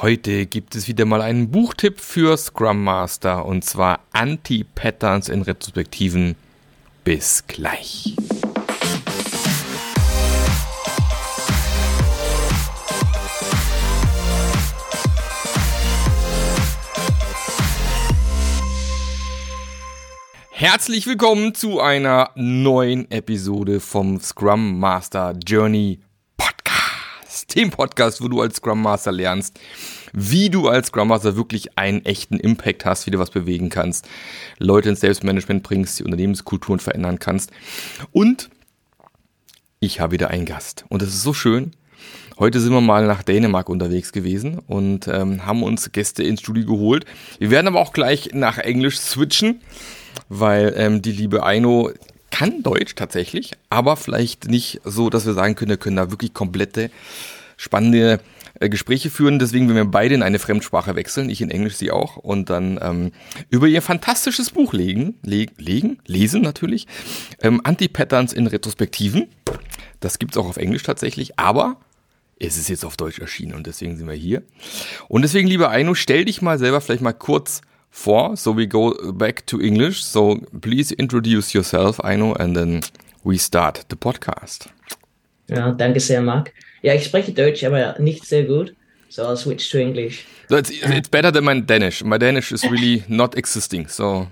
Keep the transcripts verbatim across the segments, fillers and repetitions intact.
Heute gibt es wieder mal einen Buchtipp für Scrum Master und zwar Anti-Patterns in Retrospektiven. Bis gleich. Herzlich willkommen zu einer neuen Episode vom Scrum Master Journey Podcast. Dem Podcast, wo du als Scrum Master lernst, wie du als Scrum Master wirklich einen echten Impact hast, wie du was bewegen kannst, Leute ins Selbstmanagement bringst, die Unternehmenskulturen verändern kannst. Und ich habe wieder einen Gast. Und das ist so schön. Heute sind wir mal nach Dänemark unterwegs gewesen und ähm, haben uns Gäste ins Studio geholt. Wir werden aber auch gleich nach Englisch switchen, weil ähm, die liebe Aino kann Deutsch tatsächlich, aber vielleicht nicht so, dass wir sagen können, wir können da wirklich komplette, spannende äh, Gespräche führen. Deswegen werden wir beide in eine Fremdsprache wechseln, ich in Englisch, sie auch, und dann ähm, über ihr fantastisches Buch legen, le- legen, lesen natürlich, ähm, Anti-Patterns in Retrospektiven. Das gibt's auch auf Englisch tatsächlich, aber es ist jetzt auf Deutsch erschienen und deswegen sind wir hier. Und deswegen, liebe Aino, stell dich mal selber vielleicht mal kurz vor, so we go back to English. So please introduce yourself, Aino, and then we start the podcast. Ja, danke sehr, Marc. Ja, ich spreche Deutsch, aber nicht sehr gut, so I'll switch to English. So it's, it's better than my Danish. My Danish is really not existing, so.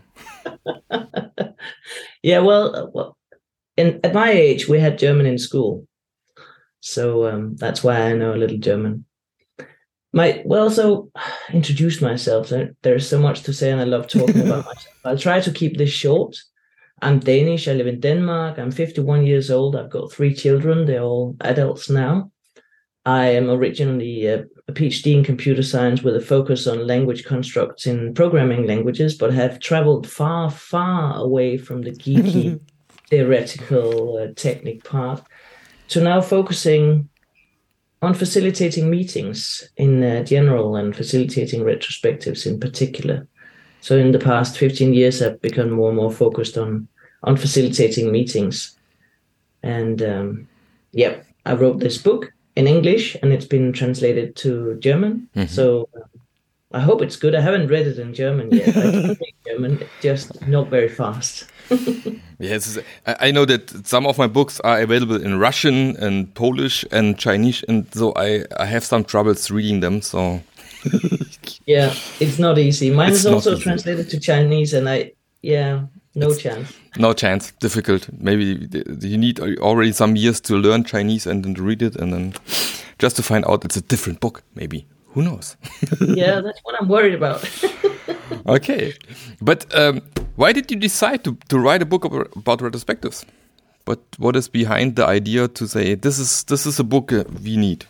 Yeah, well, well in, at my age, we had German in school. So um, that's why I know a little German. My well, so introduce myself. There's so much to say, and I love talking about myself. I'll try to keep this short. I'm Danish. I live in Denmark. I'm fifty-one years old. I've got three children. They're all adults now. I am originally a, a PhD in computer science with a focus on language constructs in programming languages, but have traveled far, far away from the geeky theoretical uh, technique part to now focusing on facilitating meetings in uh, general and facilitating retrospectives in particular. So in the past fifteen years, I've become more and more focused on, on facilitating meetings. And um, yeah, I wrote this book in English and it's been translated to German. Mm-hmm. So um, I hope it's good. I haven't read it in German yet. I can read German, just not very fast. Yes, I know that some of my books are available in Russian and Polish and Chinese, and so I, I have some troubles reading them. So yeah, it's not easy. Mine it's is also easy. Translated to Chinese, and I yeah, no it's, chance. No chance, difficult. Maybe you need already some years to learn Chinese and then to read it, and then just to find out it's a different book. Maybe who knows? Yeah, that's what I'm worried about. Okay, but um, why did you decide to, to write a book about retrospectives? But what is behind the idea to say this is this is a book we need?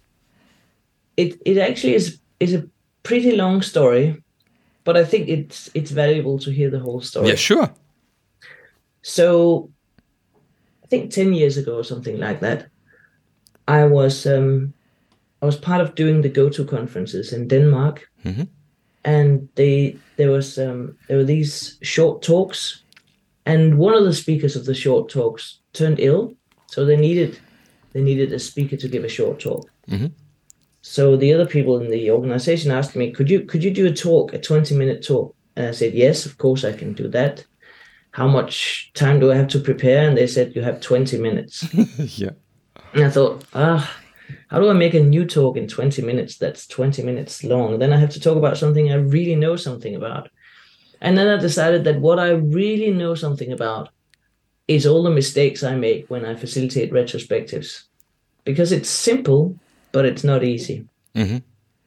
It it actually is is a pretty long story, but I think it's it's valuable to hear the whole story. Yeah, sure. So, I think ten years ago or something like that, I was um, I was part of doing the Go To conferences in Denmark. Mm-hmm. And they there was um, there were these short talks, and one of the speakers of the short talks turned ill, so they needed they needed a speaker to give a short talk. Mm-hmm. So the other people in the organization asked me, "Could you could you do a talk, a twenty minute talk?" And I said, "Yes, of course I can do that. How much time do I have to prepare?" And they said, "You have twenty minutes." Yeah. And I thought, ah. How do I make a new talk in twenty minutes that's twenty minutes long? Then I have to talk about something I really know something about. And then I decided that what I really know something about is all the mistakes I make when I facilitate retrospectives. Because it's simple, but it's not easy. Mm-hmm.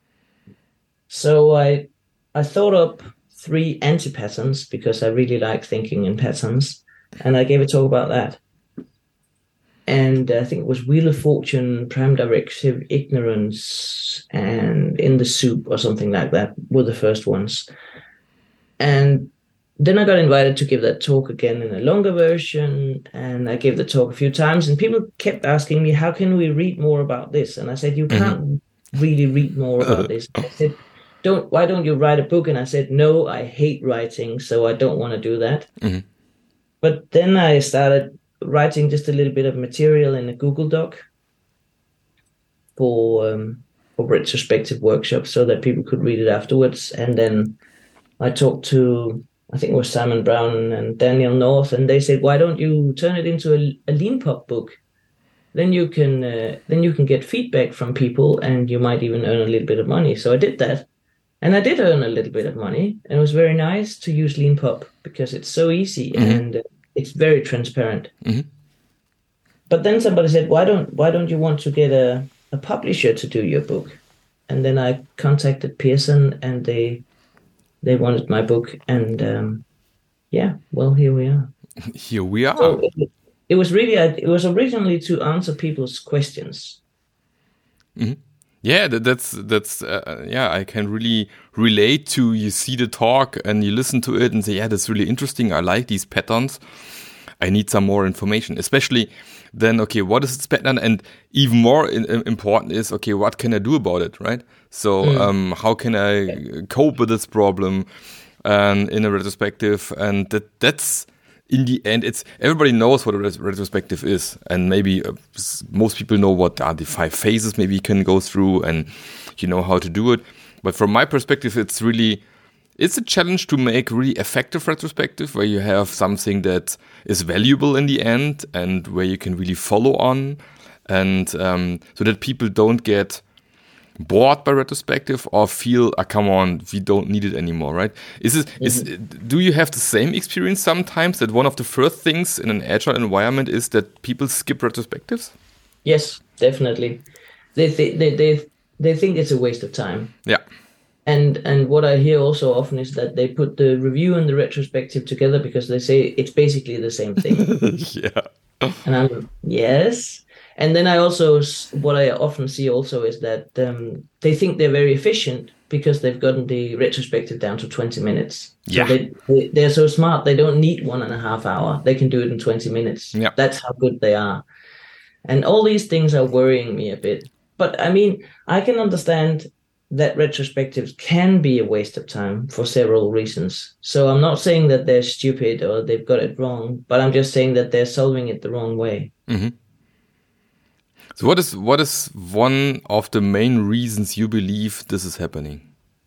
So I I thought up three anti-patterns because I really like thinking in patterns. And I gave a talk about that. And I think it was Wheel of Fortune, Prime Directive, Ignorance, and In the Soup or something like that were the first ones. And then I got invited to give that talk again in a longer version. And I gave the talk a few times. And people kept asking me, how can we read more about this? And I said, you can't mm-hmm. really read more about this. I said, don't. why don't you write a book? And I said, no, I hate writing, so I don't want to do that. Mm-hmm. But then I started writing just a little bit of material in a Google Doc for um, for retrospective workshops so that people could read it afterwards. And then I talked to, I think it was Simon Brown and Daniel North, and they said, why don't you turn it into a, a Leanpub book? Then you can uh, then you can get feedback from people, and you might even earn a little bit of money. So I did that, and I did earn a little bit of money, and it was very nice to use Leanpub because it's so easy mm-hmm. and uh, it's very transparent. Mm-hmm. But then somebody said, why don't why don't you want to get a, a publisher to do your book? And then I contacted Pearson, and they they wanted my book, and um, yeah, well, here we are. Here we are. So it, it was really it was originally to answer people's questions. Mm-hmm. Yeah, that, that's that's uh, yeah. I can really relate to. You see the talk and you listen to it and say, yeah, that's really interesting. I like these patterns. I need some more information, especially then. Okay, what is this pattern? And even more in, in, important is, okay, what can I do about it, right? So, mm. um, how can I cope with this problem, and in a retrospective? And that that's. In the end, it's everybody knows what a ret- retrospective is, and maybe uh, most people know what are the five phases maybe you can go through, and you know how to do it. But from my perspective, it's really it's a challenge to make really effective retrospective where you have something that is valuable in the end and where you can really follow on, and um, so that people don't get bored by retrospective or feel, ah, come on, we don't need it anymore, right? Is it, mm-hmm. is, do you have the same experience sometimes that one of the first things in an agile environment is that people skip retrospectives? Yes, definitely. They th- they they they think it's a waste of time. Yeah. And and what I hear also often is that they put the review and the retrospective together because they say it's basically the same thing. Yeah. And I'm yes. And then I also, what I often see also is that um, they think they're very efficient because they've gotten the retrospective down to twenty minutes. Yeah. So they, they, they're so smart, they don't need one and a half hour. They can do it in twenty minutes. Yeah. That's how good they are. And all these things are worrying me a bit. But I mean, I can understand that retrospectives can be a waste of time for several reasons. So I'm not saying that they're stupid or they've got it wrong, but I'm just saying that they're solving it the wrong way. Mm-hmm. So what is what is one of the main reasons you believe this is happening?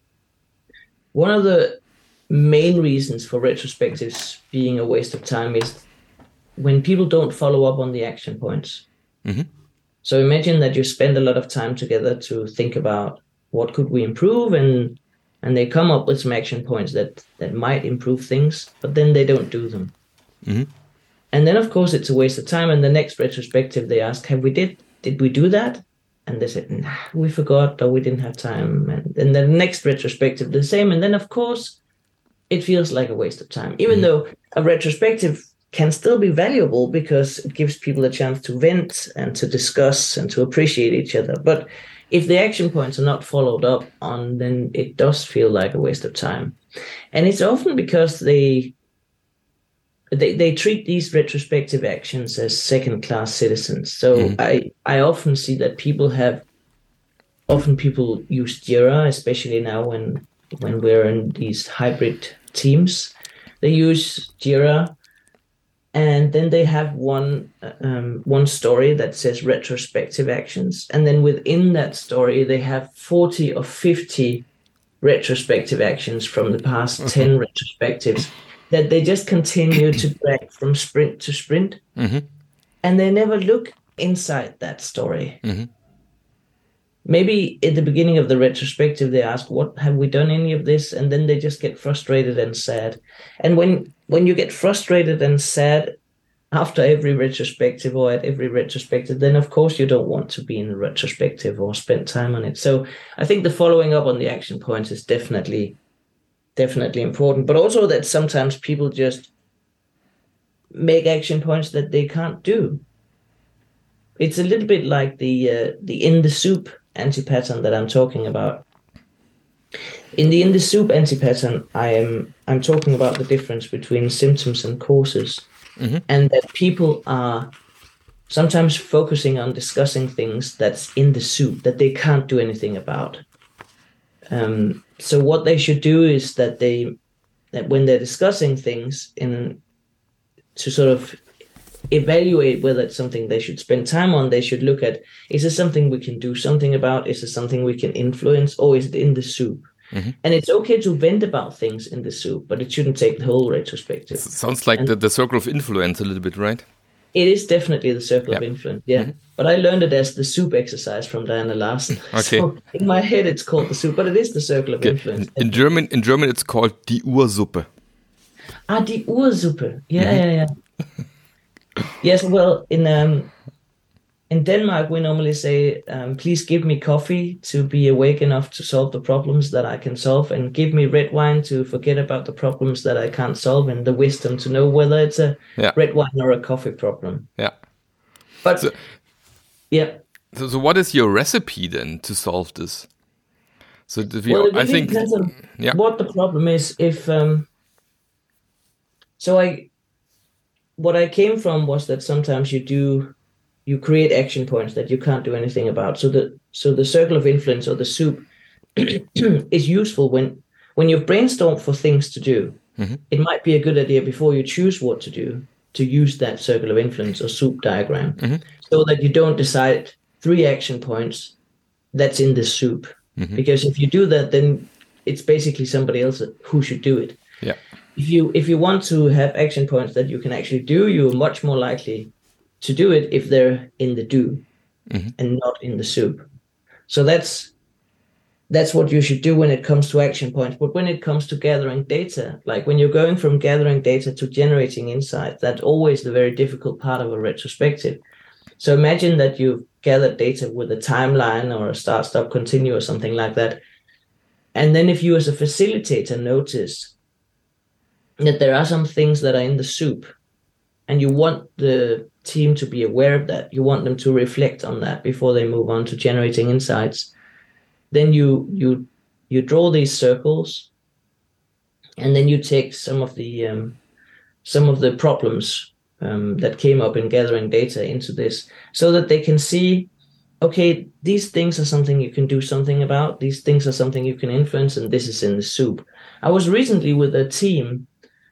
One of the main reasons for retrospectives being a waste of time is when people don't follow up on the action points. Mm-hmm. So imagine that you spend a lot of time together to think about what could we improve, and and they come up with some action points that, that might improve things, but then they don't do them. Mm-hmm. And then, of course, it's a waste of time. And the next retrospective, they ask, have we did Did we do that? And they said, nah, we forgot, or we didn't have time. And then the next retrospective, the same. And then, of course, it feels like a waste of time, even mm-hmm. though a retrospective can still be valuable because it gives people a chance to vent and to discuss and to appreciate each other. But if the action points are not followed up on, then it does feel like a waste of time. And it's often because they... They they treat these retrospective actions as second-class citizens. So mm. I, I often see that people have, often people use Jira, especially now when when we're in these hybrid teams. They use Jira, and then they have one um, one story that says retrospective actions, and then within that story they have forty or fifty retrospective actions from the past mm-hmm. ten retrospectives. That they just continue to drag from sprint to sprint, mm-hmm. and they never look inside that story. Mm-hmm. Maybe at the beginning of the retrospective, they ask, what, have we done any of this? And then they just get frustrated and sad. And when, when you get frustrated and sad after every retrospective or at every retrospective, then of course you don't want to be in the retrospective or spend time on it. So I think the following up on the action points is definitely definitely important, but also that sometimes people just make action points that they can't do. It's a little bit like the uh, the in the soup anti-pattern that I'm talking about. In the in the soup anti-pattern, I am I'm talking about the difference between symptoms and causes, mm-hmm. and that people are sometimes focusing on discussing things that's in the soup that they can't do anything about. Um, so what they should do is that they, that when they're discussing things in, to sort of evaluate whether it's something they should spend time on. They should look at, is this something we can do something about? Is this something we can influence, or is it in the soup? Mm-hmm. And it's okay to vent about things in the soup, but it shouldn't take the whole retrospective. It sounds like the, the circle of influence a little bit, right? It is definitely the circle yep. of influence, yeah. Mm-hmm. But I learned it as the soup exercise from Diana Larsen. Okay. So in my head, it's called the soup, but it is the circle of okay. influence. In, in German, in German, it's called die Ursuppe. Ah, die Ursuppe. Yeah, mm-hmm. yeah, yeah. Yes, well, in um, in Denmark, we normally say, um, please give me coffee to be awake enough to solve the problems that I can solve, and give me red wine to forget about the problems that I can't solve, and the wisdom to know whether it's a yeah. red wine or a coffee problem. Yeah. But, so, yeah. So, so what is your recipe then to solve this? So, if you, well, it I really think, depends on yeah. what the problem is. If um, so, I what I came from was that sometimes you do you create action points that you can't do anything about. So the so the circle of influence, or the soup, is useful when when you've brainstormed for things to do. Mm-hmm. It might be a good idea before you choose what to do to use that circle of influence or soup diagram, mm-hmm. so that you don't decide three action points that's in the soup. Mm-hmm. Because if you do that, then it's basically somebody else who should do it. Yeah. If you if you want to have action points that you can actually do, you're much more likely to do it if they're in the do, mm-hmm. and not in the soup. So that's that's what you should do when it comes to action points. But when it comes to gathering data, like when you're going from gathering data to generating insight, that's always the very difficult part of a retrospective. So imagine that you've gathered data with a timeline or a start, stop, continue or something like that. And then if you as a facilitator notice that there are some things that are in the soup, and you want the team to be aware of that, you want them to reflect on that before they move on to generating insights, then you you you draw these circles, and then you take some of the um, some of the problems um, that came up in gathering data into this, so that they can see, okay, these things are something you can do something about, these things are something you can influence, and this is in the soup. I was recently with a team,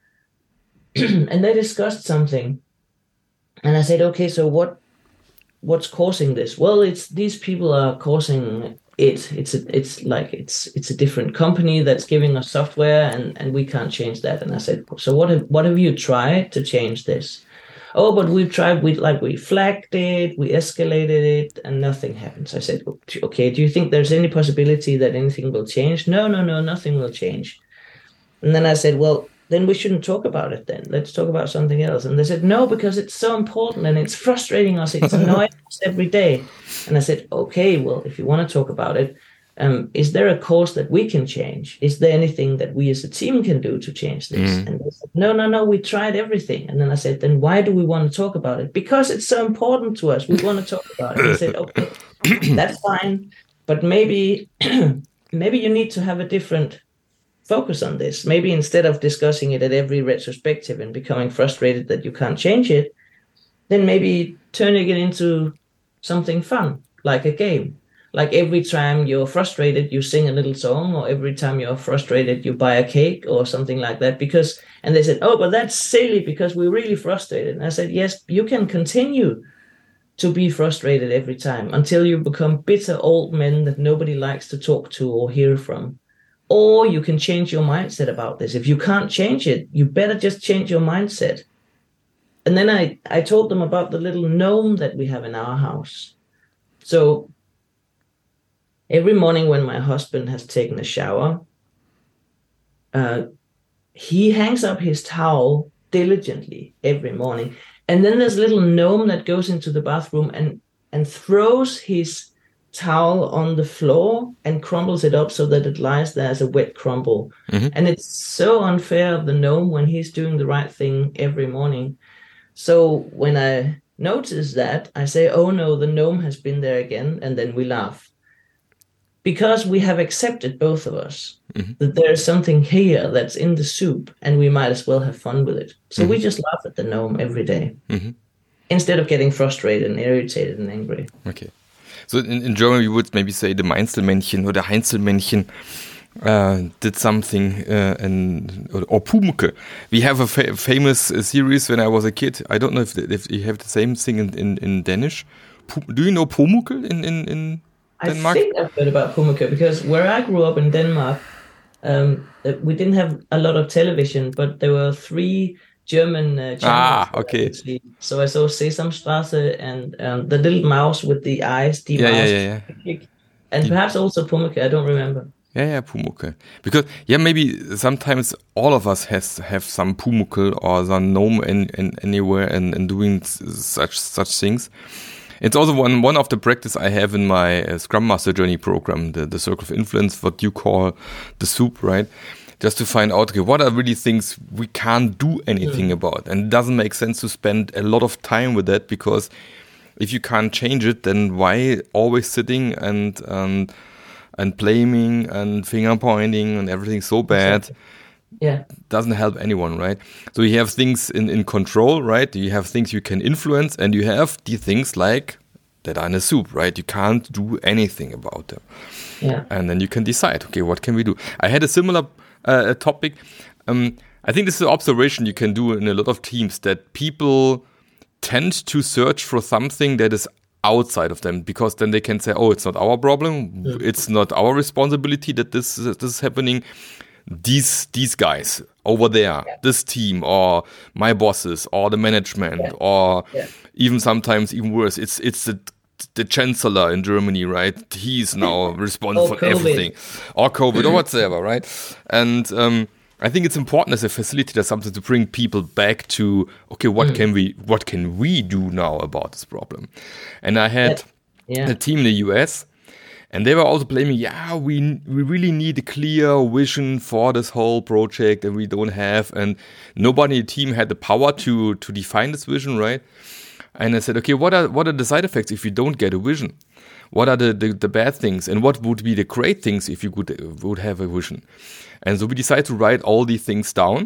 and they discussed something, and I said, okay, so what what's causing this? Well, it's these people are causing it. It's a, it's like it's it's a different company that's giving us software, and, and we can't change that. And I said, so what have what have you tried to change this? Oh, but we've tried. We like we flagged it, we escalated it, and nothing happens. I said, okay, do you think there's any possibility that anything will change? No, no, no, nothing will change. And then I said, well, then we shouldn't talk about it then. Let's talk about something else. And they said, no, because it's so important and it's frustrating us. It's annoying us every day. And I said, okay, well, if you want to talk about it, um, is there a course that we can change? Is there anything that we as a team can do to change this? Mm. And they said, no, no, no, we tried everything. And then I said, then why do we want to talk about it? Because it's so important to us. We want to talk about it. And they said, okay, that's fine. But maybe, maybe you need to have a different focus on this. Maybe instead of discussing it at every retrospective and becoming frustrated that you can't change it, then maybe turning it into something fun, like a game. Like every time you're frustrated, you sing a little song, or every time you're frustrated, you buy a cake or something like that. Because, and they said, oh, but that's silly because we're really frustrated. And I said, yes, you can continue to be frustrated every time until you become bitter old men that nobody likes to talk to or hear from. Or you can change your mindset about this. If you can't change it, you better just change your mindset. And then I, I told them about the little gnome that we have in our house. So every morning when my husband has taken a shower, uh, he hangs up his towel diligently every morning. And then there's a little gnome that goes into the bathroom and, and throws his towel on the floor and crumbles it up so that it lies there as a wet crumble. Mm-hmm. And it's so unfair of the gnome when he's doing the right thing every morning. So when I notice that, I say, oh no, the gnome has been there again. And then we laugh. Because we have accepted, both of us, mm-hmm. that there's something here that's in the soup and we might as well have fun with it. So mm-hmm. we just laugh at the gnome every day, mm-hmm. instead of getting frustrated and irritated and angry. Okay. So in, in German, we would maybe say the Mainzelmännchen or the Heinzelmännchen. uh, did something uh, in, or, or Pumuckl. We have a fa- famous uh, series when I was a kid. I don't know if, if you have the same thing in, in, in Danish. P- do you know Pumuckl in, in, in Denmark? I think I've heard about Pumuckl because where I grew up in Denmark, um, we didn't have a lot of television, but there were three German uh, channels. Ah, okay. I so I saw Sesamstrasse and um, the little mouse with the eyes, the yeah, mouse, yeah, yeah, yeah. and the, perhaps also Pumuckl. I don't remember. Yeah, yeah, Pumuckl. Because yeah, maybe sometimes all of us has have some Pumuckl or some gnome in, in anywhere and, and doing such such things. It's also one one of the practice I have in my uh, Scrum Master Journey program, the the Circle of Influence, what you call the soup, right? Just to find out, okay, what are really things we can't do anything mm. about, and it doesn't make sense to spend a lot of time with that, because if you can't change it, then why always sitting and and and blaming and finger pointing and everything so bad? Yeah, doesn't help anyone, right? So you have things in, in control, right? You have things you can influence, and you have the things like that are in a soup, right? You can't do anything about them. Yeah. And then you can decide, okay, what can we do? I had a similar uh, topic. Um, I think this is an observation you can do in a lot of teams, that people tend to search for something that is outside of them, because then they can say, oh, it's not our problem. Mm. It's not our responsibility that this, this is happening. These these guys over there, yeah. this team, or my bosses, or the management, yeah. or yeah. even sometimes even worse, it's it's the the chancellor in Germany, right? He's now responsible for COVID. everything, or COVID, or whatsoever, right? And um, I think it's important as a facilitator something to bring people back to, okay, what mm. can we what can we do now about this problem? And I had yeah. a team in the U S. And they were also blaming, yeah, we we really need a clear vision for this whole project, and we don't have, and nobody in the team had the power to to define this vision, right? And I said, okay, what are what are the side effects if you don't get a vision? What are the, the, the bad things, and what would be the great things if you could would have a vision? And so we decided to write all these things down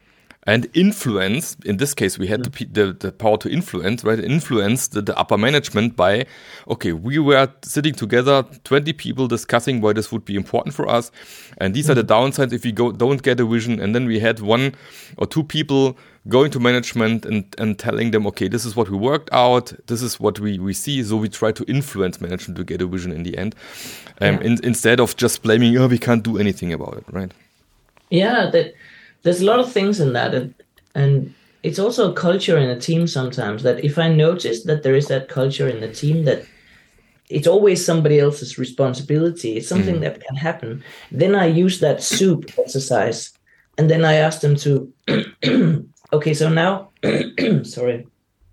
and influence. In this case, we had the, the, the power to influence, right? Influence the, the upper management by, okay, we were sitting together, twenty people discussing why this would be important for us. And these mm-hmm. are the downsides if we go, don't get a vision. And then we had one or two people going to management and, and telling them, okay, this is what we worked out. This is what we, we see. So we try to influence management to get a vision in the end. Um, yeah. in, instead of just blaming, oh, we can't do anything about it, right? Yeah, that... There's a lot of things in that, and, and it's also a culture in a team sometimes, that if I notice that there is that culture in the team, that it's always somebody else's responsibility, it's something mm. that can happen, then I use that soup exercise, and then I ask them to, okay, so now, sorry,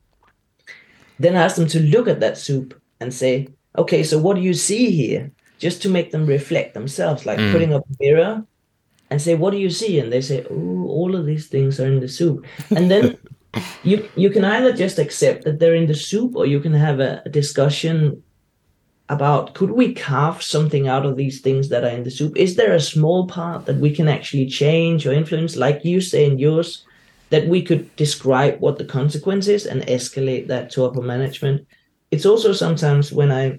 then I ask them to look at that soup and say, okay, so what do you see here? Just to make them reflect themselves, like mm. putting up a mirror, and say, what do you see? And they say, oh, all of these things are in the soup. And then you you can either just accept that they're in the soup, or you can have a, a discussion about, could we carve something out of these things that are in the soup? Is there a small part that we can actually change or influence, like you say in yours, that we could describe what the consequence is and escalate that to upper management? It's also sometimes when I,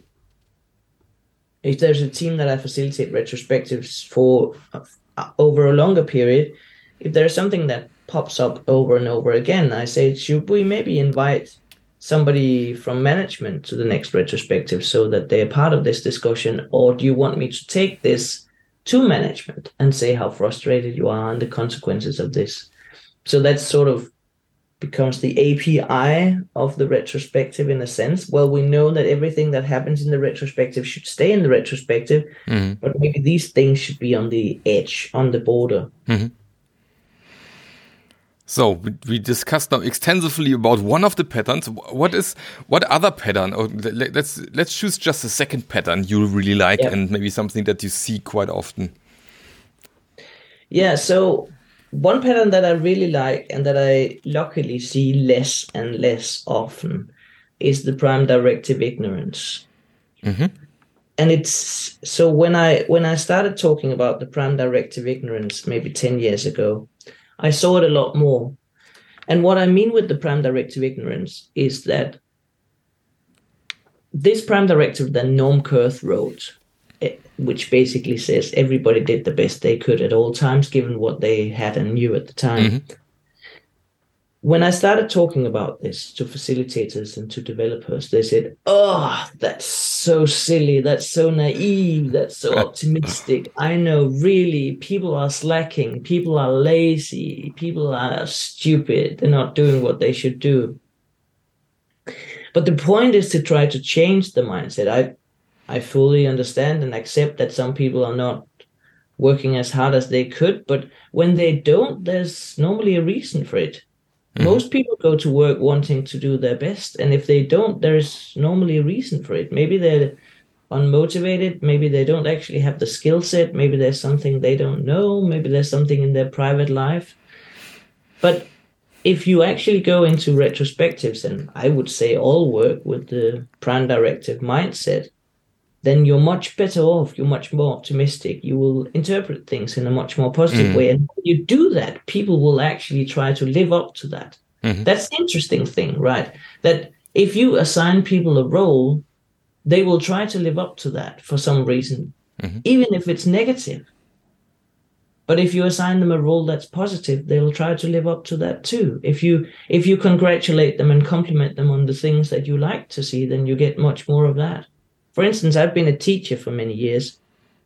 if there's a team that I facilitate retrospectives for uh, over a longer period, if there's something that pops up over and over again, I say, should we maybe invite somebody from management to the next retrospective so that they're part of this discussion? Or do you want me to take this to management and say how frustrated you are and the consequences of this? So that sort of becomes the A P I of the retrospective in a sense. Well, we know that everything that happens in the retrospective should stay in the retrospective, mm-hmm. but maybe these things should be on the edge, on the border. Mm-hmm. So we, we discussed now extensively about one of the patterns. What is what other pattern? Or let's let's choose just a second pattern you really like, yeah. and maybe something that you see quite often. Yeah. So one pattern that I really like and that I luckily see less and less often is the prime directive ignorance. Mm-hmm. And it's so when I when I started talking about the prime directive ignorance maybe ten years ago, I saw it a lot more. And what I mean with the prime directive ignorance is that this prime directive that Norm Kurth wrote which basically says everybody did the best they could at all times, given what they had and knew at the time. Mm-hmm. When I started talking about this to facilitators and to developers, they said, oh, that's so silly. That's so naive. That's so optimistic. I know, really, people are slacking. People are lazy. People are stupid. They're not doing what they should do. But the point is to try to change the mindset. I, I fully understand and accept that some people are not working as hard as they could. But when they don't, there's normally a reason for it. Mm-hmm. Most people go to work wanting to do their best. And if they don't, there's normally a reason for it. Maybe they're unmotivated. Maybe they don't actually have the skill set. Maybe there's something they don't know. Maybe there's something in their private life. But if you actually go into retrospectives, and I would say all work with the prime directive mindset, then you're much better off. You're much more optimistic. You will interpret things in a much more positive mm. way. And when you do that, people will actually try to live up to that. Mm-hmm. That's the interesting thing, right? That if you assign people a role, they will try to live up to that for some reason, mm-hmm. even if it's negative. But if you assign them a role that's positive, they'll try to live up to that too. If you if you congratulate them and compliment them on the things that you like to see, then you get much more of that. For instance, I've been a teacher for many years,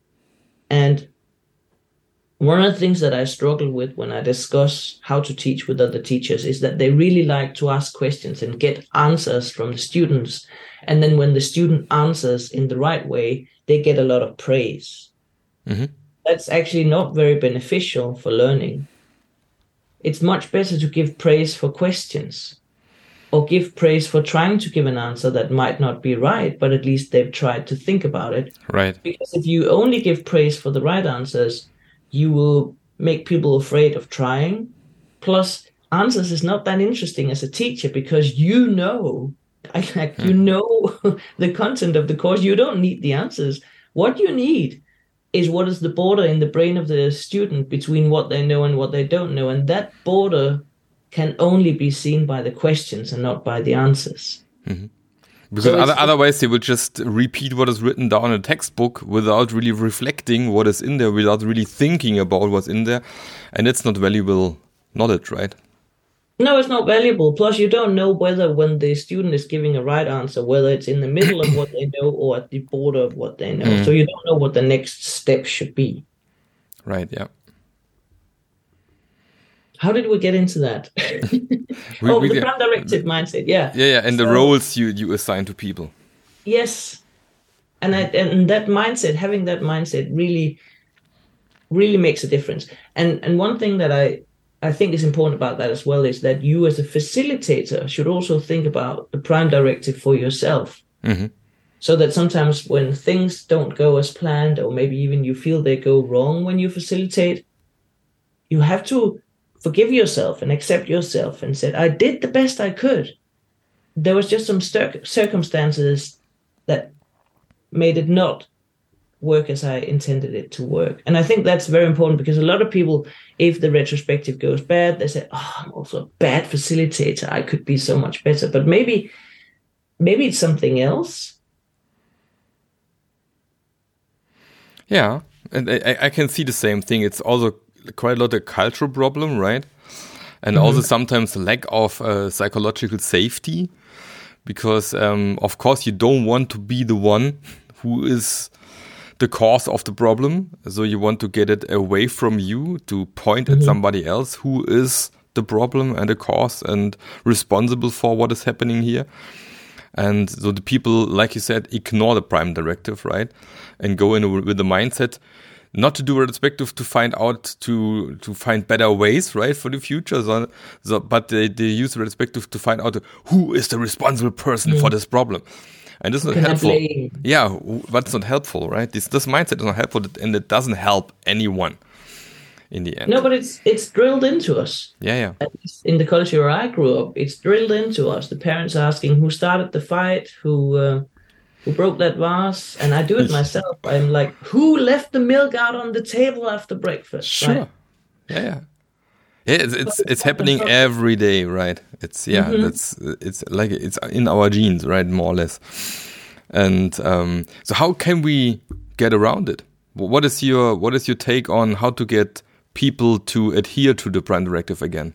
and one of the things that I struggle with when I discuss how to teach with other teachers is that they really like to ask questions and get answers from the students. And then when the student answers in the right way, they get a lot of praise. Mm-hmm. That's actually not very beneficial for learning. It's much better to give praise for questions, or give praise for trying to give an answer that might not be right, but at least they've tried to think about it. Right. Because if you only give praise for the right answers, you will make people afraid of trying. Plus, answers is not that interesting as a teacher because you know, like you know the content of the course. You don't need the answers. What you need is what is the border in the brain of the student between what they know and what they don't know. And that border can only be seen by the questions and not by the answers. Mm-hmm. Because so other, otherwise they will just repeat what is written down in a textbook without really reflecting what is in there, without really thinking about what's in there. And it's not valuable knowledge, right? No, it's not valuable. Plus, you don't know whether when the student is giving a right answer, whether it's in the middle of what they know or at the border of what they know. Mm. So you don't know what the next step should be. Right, yeah. How did we get into that? we, oh, we, the prime directive mindset, yeah. Yeah, yeah, and so, the roles you, you assign to people. Yes. And, I, and that mindset, having that mindset really, really makes a difference. And and one thing that I, I think is important about that as well is that you as a facilitator should also think about the prime directive for yourself. Mm-hmm. So that sometimes when things don't go as planned, or maybe even you feel they go wrong when you facilitate, you have to forgive yourself and accept yourself and said, I did the best I could. There was just some cir- circumstances that made it not work as I intended it to work. And I think that's very important because a lot of people, if the retrospective goes bad, they say, oh, I'm also a bad facilitator. I could be so much better. But maybe, maybe it's something else. Yeah, and I, I can see the same thing. It's also quite a lot of cultural problem, right? And mm-hmm. also sometimes lack of uh, psychological safety, because um, of course you don't want to be the one who is the cause of the problem. So you want to get it away from you, to point mm-hmm. at somebody else who is the problem and the cause and responsible for what is happening here. And so the people, like you said, ignore the prime directive, right? And go in with the mindset not to do a retrospective to find out, to to find better ways, right, for the future. So, so, but they, they use the retrospective to find out who is the responsible person mm. for this problem. And this is not helpful. Yeah, but it's not helpful, right? This this mindset is not helpful, and it doesn't help anyone in the end. No, but it's it's drilled into us. Yeah, yeah. At least in the culture where I grew up, it's drilled into us. The parents asking who started the fight, who uh, who broke that vase, and I do it myself. I'm like, who left the milk out on the table after breakfast? Sure. Right? Yeah, yeah. Yeah, it's it's, it's happening every day, right? It's yeah, mm-hmm. that's it's like it's in our genes, right? More or less. And um, so, how can we get around it? What is your what is your take on how to get people to adhere to the Prime Directive again?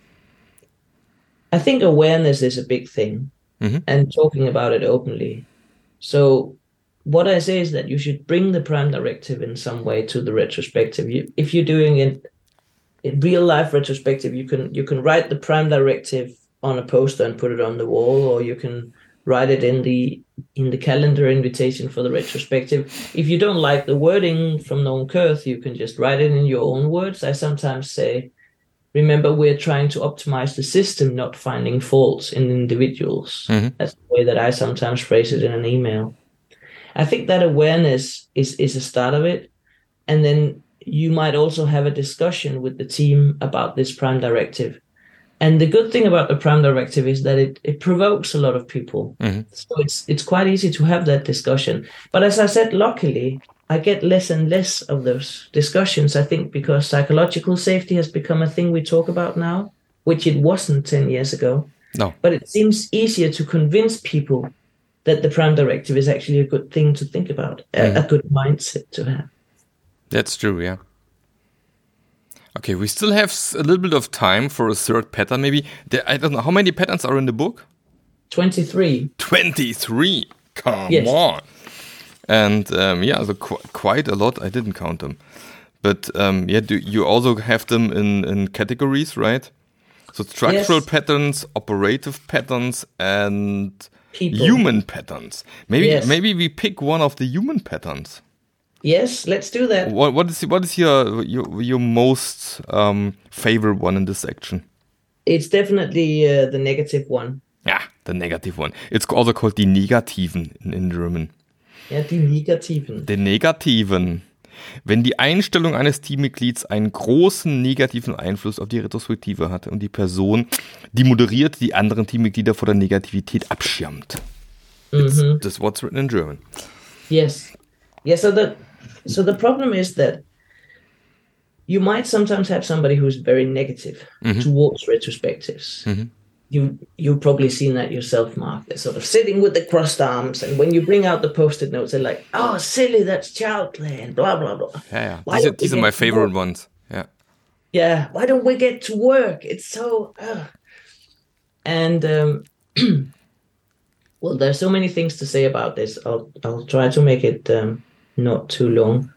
I think awareness is a big thing, mm-hmm. and talking about it openly. So what I say is that you should bring the Prime Directive in some way to the retrospective. You, if you're doing it in real life retrospective, you can you can write the Prime Directive on a poster and put it on the wall, or you can write it in the in the calendar invitation for the retrospective. If you don't like the wording from Noam Kurth, you can just write it in your own words. I sometimes say, remember, we're trying to optimize the system, not finding faults in individuals. Mm-hmm. That's the way that I sometimes phrase it in an email. I think that awareness is, is a start of it. And then you might also have a discussion with the team about this Prime Directive. And the good thing about the Prime Directive is that it, it provokes a lot of people. Mm-hmm. So it's it's quite easy to have that discussion. But as I said, luckily, I get less and less of those discussions, I think, because psychological safety has become a thing we talk about now, which it wasn't ten years ago. No. But it seems easier to convince people that the Prime Directive is actually a good thing to think about, mm-hmm. a, a good mindset to have. That's true, yeah. Okay, we still have a little bit of time for a third pattern, maybe. There, I don't know, how many patterns are in the book? twenty-three. twenty-three? Come yes. on. And um, yeah, so qu- quite a lot. I didn't count them. But um, yeah, do you also have them in, in categories, right? So structural yes. patterns, operative patterns, and People. human patterns. Maybe yes. maybe we pick one of the human patterns. Yes, let's do that. What what is what is your your, your most um, favorite one in this section? It's definitely uh, the negative one. Yeah, the negative one. It's also called die Negativen in, in German. Ja, die Negativen. Die Negativen. Wenn die Einstellung eines Teammitglieds einen großen negativen Einfluss auf die Retrospektive hat und die Person, die moderiert, die anderen Teammitglieder vor der Negativität abschirmt. Mm-hmm. That's what's written in German. Yes. Yeah, so the, so the problem is that you might sometimes have somebody who's very negative mm-hmm. towards retrospectives. Mm-hmm. You, you've probably seen that yourself, Mark. They're sort of sitting with the crossed arms, and when you bring out the post-it notes, they're like, oh, silly, that's child play, and blah, blah, blah. Yeah, yeah. These are, these are my favorite ones. Yeah. Yeah, why don't we get to work? It's so... Uh. And, um, well, there's so many things to say about this. I'll, I'll try to make it um, not too long.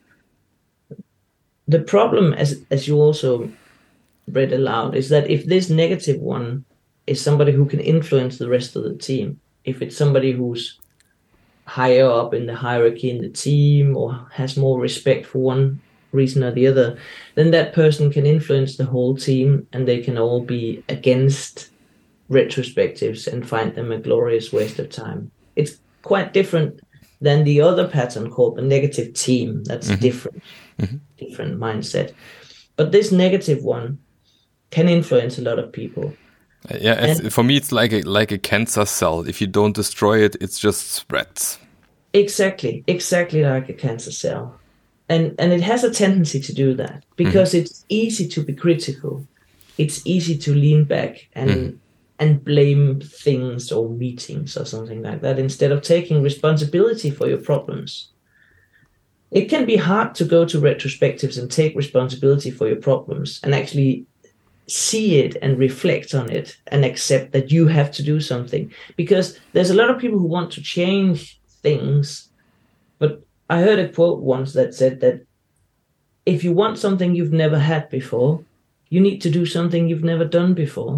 The problem, as as you also read aloud, is that if this negative one is somebody who can influence the rest of the team, if it's somebody who's higher up in the hierarchy in the team or has more respect for one reason or the other, then that person can influence the whole team, and they can all be against retrospectives and find them a glorious waste of time. It's quite different than the other pattern called the negative team. That's mm-hmm. different, mm-hmm. different mindset. But this negative one can influence a lot of people. Yeah, it's, for me, it's like a like a cancer cell. If you don't destroy it, it just spreads. Exactly, exactly like a cancer cell, and and it has a tendency to do that because mm-hmm. it's easy to be critical. It's easy to lean back and mm-hmm. and blame things or meetings or something like that instead of taking responsibility for your problems. It can be hard to go to retrospectives and take responsibility for your problems and actually see it and reflect on it and accept that you have to do something, because there's a lot of people who want to change things. But I heard a quote once that said that if you want something you've never had before, you need to do something you've never done before.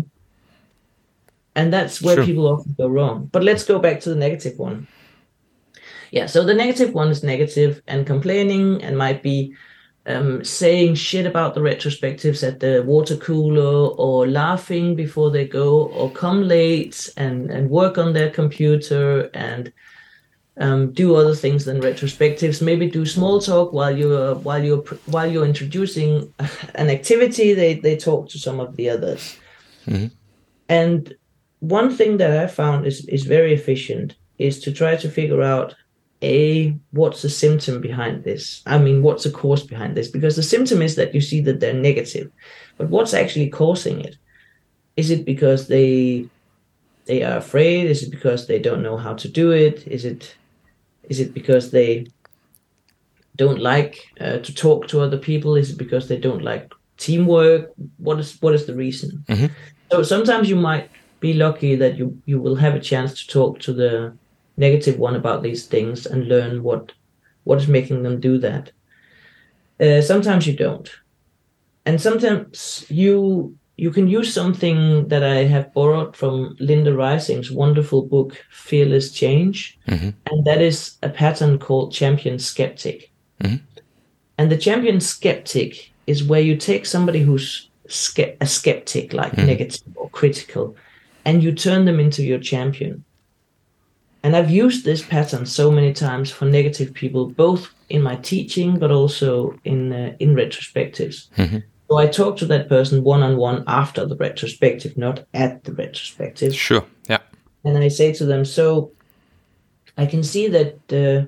And that's where sure. people often go wrong. But let's go back to the negative one. Yeah, so the negative one is negative and complaining and might be Um, saying shit about the retrospectives at the water cooler, or laughing before they go, or come late and, and work on their computer and um, do other things than retrospectives. Maybe do small talk while you're while you're while you're introducing an activity. They they talk to some of the others. Mm-hmm. And one thing that I found is is very efficient is to try to figure out, A, what's the symptom behind this? I mean, what's the cause behind this? Because the symptom is that you see that they're negative, but what's actually causing it? Is it because they they are afraid? Is it because they don't know how to do it? Is it is it because they don't like uh, to talk to other people? Is it because they don't like teamwork? What is what is the reason? Mm-hmm. So sometimes you might be lucky that you, you will have a chance to talk to the negative one about these things and learn what what is making them do that. Uh, sometimes you don't. And sometimes you you can use something that I have borrowed from Linda Rising's wonderful book, Fearless Change. Mm-hmm. And that is a pattern called champion skeptic. Mm-hmm. And the champion skeptic is where you take somebody who's ske- a skeptic, like mm-hmm. negative or critical, and you turn them into your champion. And I've used this pattern so many times for negative people, both in my teaching, but also in uh, in retrospectives. Mm-hmm. So I talk to that person one-on-one after the retrospective, not at the retrospective. Sure, yeah. And I say to them, so I can see that uh,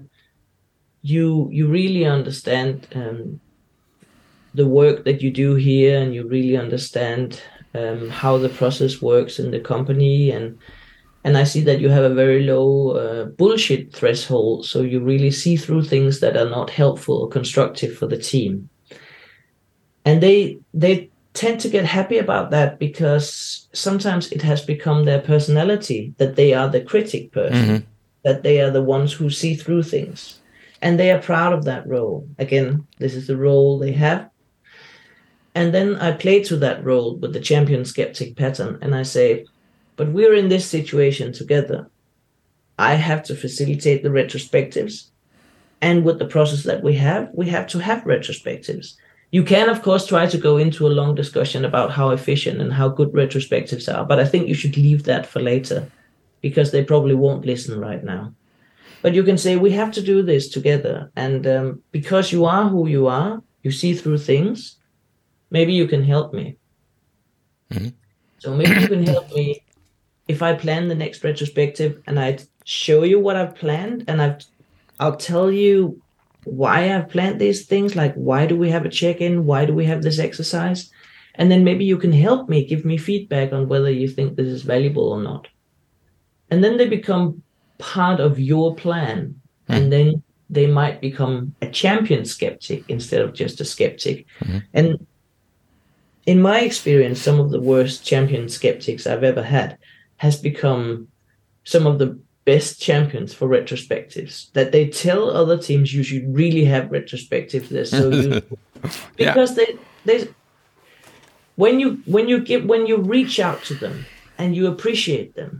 you you really understand um, the work that you do here, and you really understand um, how the process works in the company, and and I see that you have a very low uh, bullshit threshold, so you really see through things that are not helpful or constructive for the team. And they they tend to get happy about that, because sometimes it has become their personality that they are the critic person, mm-hmm. that they are the ones who see through things. And they are proud of that role. Again, this is the role they have. And then I play to that role with the champion skeptic pattern, and I say, but we're in this situation together. I have to facilitate the retrospectives. And with the process that we have, we have to have retrospectives. You can, of course, try to go into a long discussion about how efficient and how good retrospectives are, but I think you should leave that for later, because they probably won't listen right now. But you can say, we have to do this together. And um, because you are who you are, you see through things, maybe you can help me. Mm-hmm. So maybe you can help me if I plan the next retrospective and I show you what I've planned, and I've, I'll tell you why I've planned these things, like why do we have a check-in? Why do we have this exercise? And then maybe you can help me, give me feedback on whether you think this is valuable or not. And then they become part of your plan. Mm-hmm. And then they might become a champion skeptic instead of just a skeptic. Mm-hmm. And in my experience, some of the worst champion skeptics I've ever had has become some of the best champions for retrospectives, that they tell other teams you should really have retrospectives. They're so useful. Because yeah. they they when you when you give when you reach out to them and you appreciate them,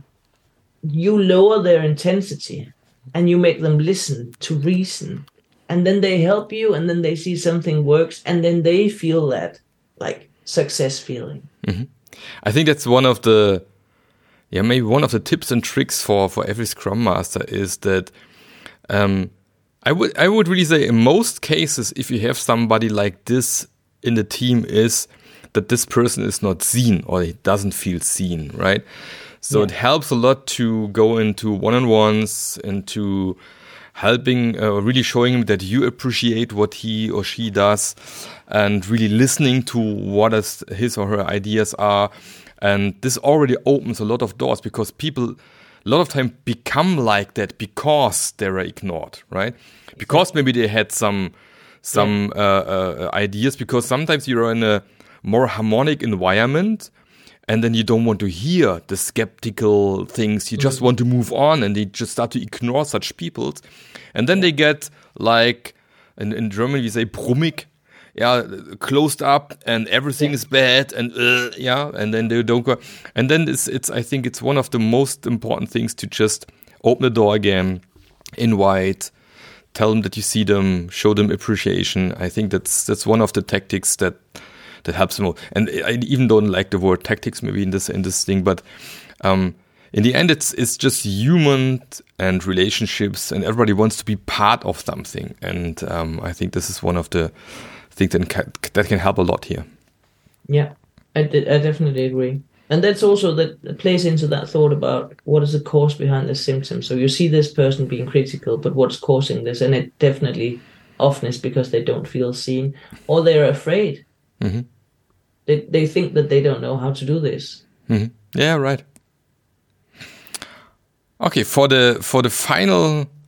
you lower their intensity and you make them listen to reason, and then they help you, and then they see something works, and then they feel that like success feeling. Mm-hmm. I think that's one of the Yeah, maybe one of the tips and tricks for, for every Scrum Master is that um, I would I would really say in most cases, if you have somebody like this in the team, is that this person is not seen, or he doesn't feel seen, right? So yeah. It helps a lot to go into one-on-ones, into helping, uh, really showing him that you appreciate what he or she does, and really listening to what is his or her ideas are. And this already opens a lot of doors, because people a lot of time become like that because they are ignored, right? Because maybe they had some some uh, uh, ideas, because sometimes you're in a more harmonic environment and then you don't want to hear the skeptical things. You just mm-hmm. want to move on, and they just start to ignore such people. And then they get like, in, in German we say brummig, yeah, closed up, and everything yeah. is bad, and uh, yeah, and then they don't go. And then it's, it's, I think it's one of the most important things to just open the door again, invite, tell them that you see them, show them appreciation. I think that's that's one of the tactics that that helps them. And I even don't like the word tactics maybe in this in this thing, but um, in the end, it's it's just human and relationships, and everybody wants to be part of something. And um, I think this is one of the think that can, that can help a lot here. Yeah, I, d- I definitely agree. And that's also that plays into that thought about what is the cause behind the symptom. So you see this person being critical, but what's causing this? And it definitely often is because they don't feel seen, or they're afraid. Mm-hmm. They they think that they don't know how to do this. Mm-hmm. Yeah, right. Okay, for the for the final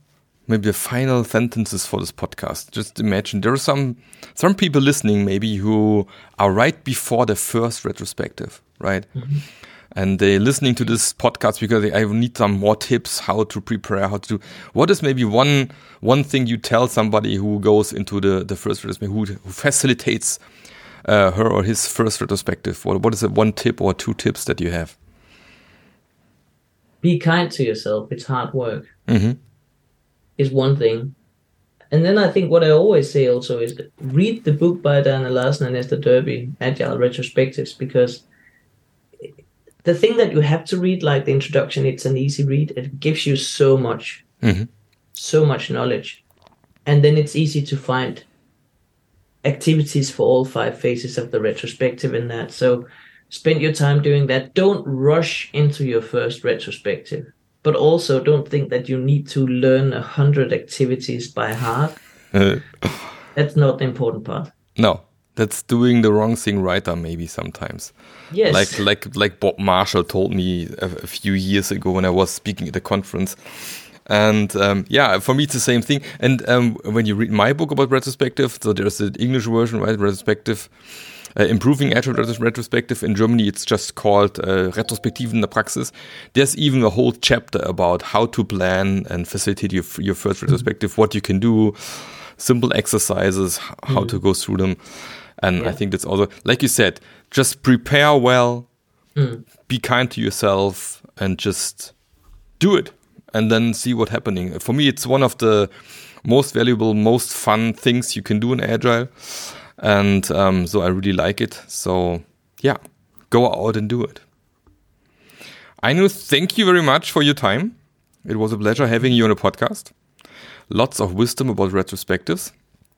maybe the final sentences for this podcast. Just imagine there are some some people listening maybe who are right before the first retrospective, right? Mm-hmm. And they're listening to this podcast because they I need some more tips how to prepare, how to do. What is maybe one one thing you tell somebody who goes into the, the first retrospective, who, who facilitates uh, her or his first retrospective? What what is the one tip or two tips that you have? Be kind to yourself. It's hard work. Mm-hmm. Is one thing. And then I think what I always say also is read the book by Diana Larsen and Esther Derby, Agile Retrospectives, because the thing that you have to read, like the introduction, it's an easy read. It gives you so much, mm-hmm. so much knowledge. And then it's easy to find activities for all five phases of the retrospective in that. So spend your time doing that. Don't rush into your first retrospective, but also don't think that you need to learn a hundred activities by heart. That's not the important part. No. That's doing the wrong thing right, or maybe sometimes. Yes. Like like like Bob Marshall told me a, a few years ago when I was speaking at a conference. And um, yeah, for me it's the same thing. And um, when you read my book about retrospective, so there's the English version, right? Retrospective, uh, Improving Agile Retrospective. In Germany, it's just called uh, Retrospektiven in der Praxis. There's even a whole chapter about how to plan and facilitate your your first retrospective, what you can do, simple exercises, how mm. to go through them. And yeah. I think that's also, like you said, just prepare well, mm. be kind to yourself, and just do it. And then see what's happening. For me, it's one of the most valuable, most fun things you can do in Agile. And um, so I really like it. So yeah, go out and do it. Aino, thank you very much for your time. It was a pleasure having you on a podcast. Lots of wisdom about retrospectives.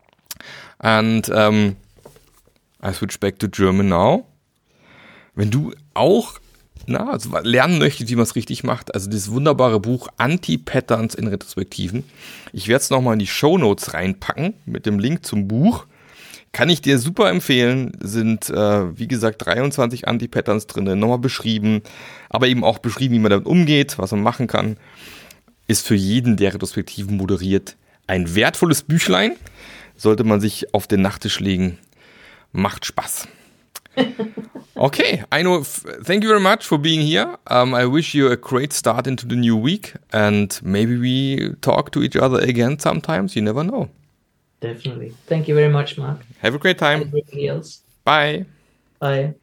And um, I switch back to German now. Wenn du auch na, also lernen möchtest, wie man es richtig macht, also dieses wunderbare Buch Anti-Patterns in Retrospektiven. Ich werde es nochmal in die Shownotes reinpacken mit dem Link zum Buch. Kann ich dir super empfehlen. Sind, äh, wie gesagt, dreiundzwanzig Anti-Patterns drin, nochmal beschrieben, aber eben auch beschrieben, wie man damit umgeht, was man machen kann. Ist für jeden, der Retrospektiven moderiert, ein wertvolles Büchlein. Sollte man sich auf den Nachttisch legen. Macht Spaß. Okay, Aino, thank you very much for being here. Um, I wish you a great start into the new week, and maybe we talk to each other again sometimes. You never know. Definitely. Thank you very much, Mark. Have a great time. Everything else. Bye. Bye.